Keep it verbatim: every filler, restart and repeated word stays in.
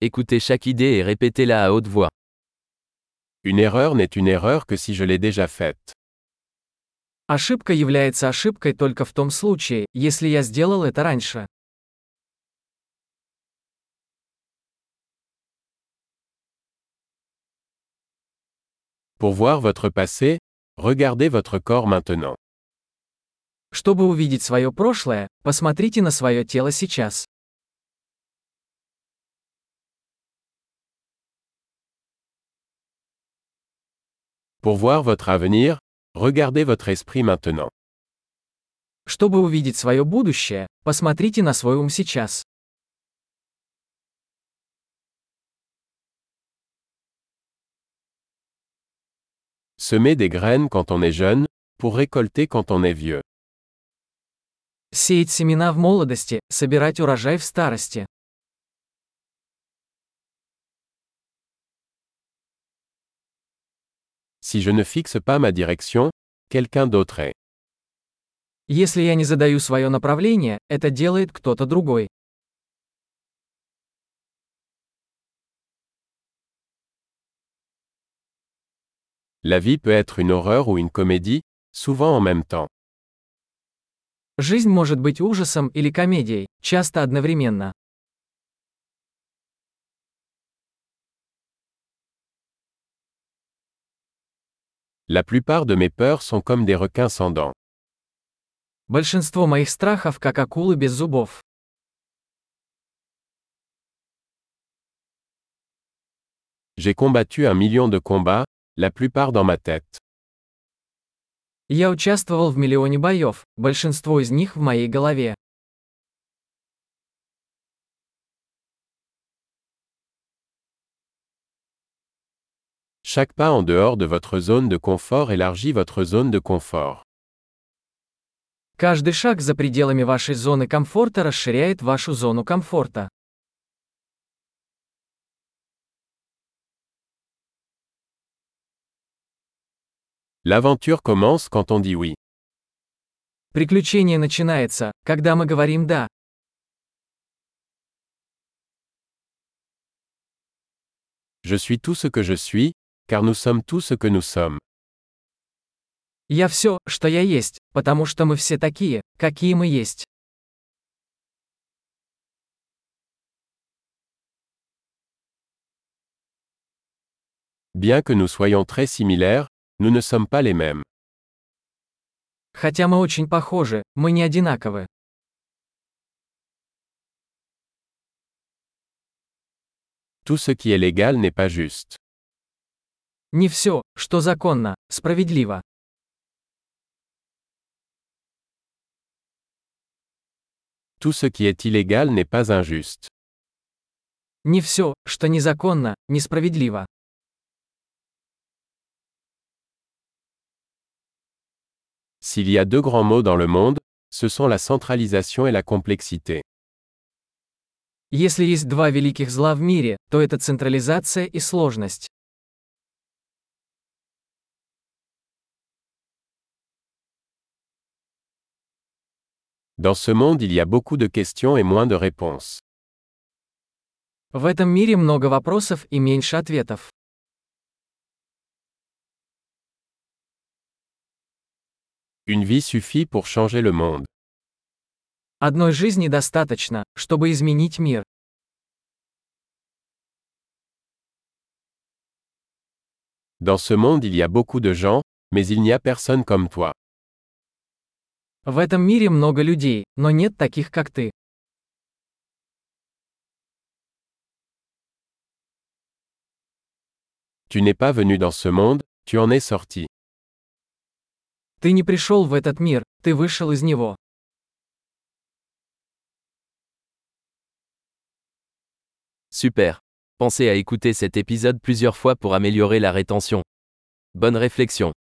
Écoutez chaque idée et répétez-la à haute voix. Une erreur n'est une erreur que si je l'ai déjà faite. Ошибка является ошибкой только в том случае, если я сделал это раньше. Pour voir votre passé, regardez votre corps maintenant. Чтобы увидеть свое прошлое, посмотрите на свое тело сейчас. Pour voir votre avenir, regardez votre esprit maintenant. Чтобы увидеть свое будущее, посмотрите на свой ум сейчас. Semer des graines quand on est jeune, pour récolter quand on est vieux. Сеять семена в молодости, собирать урожай в старости. Si je ne fixe pas ma direction, quelqu'un d'autre est. Если я не задаю свое направление, это делает кто-то другой. La vie peut être une horreur ou une comédie, souvent en même temps. Жизнь может быть ужасом или комедией, часто одновременно. La plupart de mes peurs sont comme des requins sans dents. Большинство моих страхов как акулы без зубов. J'ai combattu un million de combats, la plupart dans ma tête. Я участвовал в миллионе боев, большинство из них в моей голове. Chaque pas en dehors de votre zone de confort élargit votre zone de confort. Каждый шаг за пределами вашей зоны комфорта расширяет вашу зону комфорта. L'aventure commence quand on dit oui. Приключение начинается, когда мы говорим «да». Je suis tout ce que je suis, car nous sommes tout ce que nous sommes. Я все, что я есть, потому что мы все такие, какие мы есть. Bien que nous soyons très similaires, nous ne sommes pas les mêmes. Хотя мы очень похожи, мы не одинаковы. Tout ce qui est légal n'est pas juste. Не все, что законно, справедливо. Tout ce qui est illégal n'est pas injuste. Не все, что незаконно, несправедливо. S'il y a deux grands mots dans le monde, ce sont la centralisation et la complexité. Если есть два великих зла в мире, то это централизация и сложность. Dans ce monde il y a beaucoup de questions et moins de réponses. В этом мире много вопросов и меньше ответов. Une vie suffit pour changer le monde. Одной жизни достаточно, чтобы изменить мир. Dans ce monde il y a beaucoup de gens, mais il n'y a personne comme toi. В этом мире много людей, но нет таких, как ты. Tu n'es pas venu dans ce monde, tu en es sorti. Ты не пришел в этот мир, ты вышел из него. Super. Pensez à écouter cet épisode plusieurs fois pour améliorer la rétention. Bonne réflexion.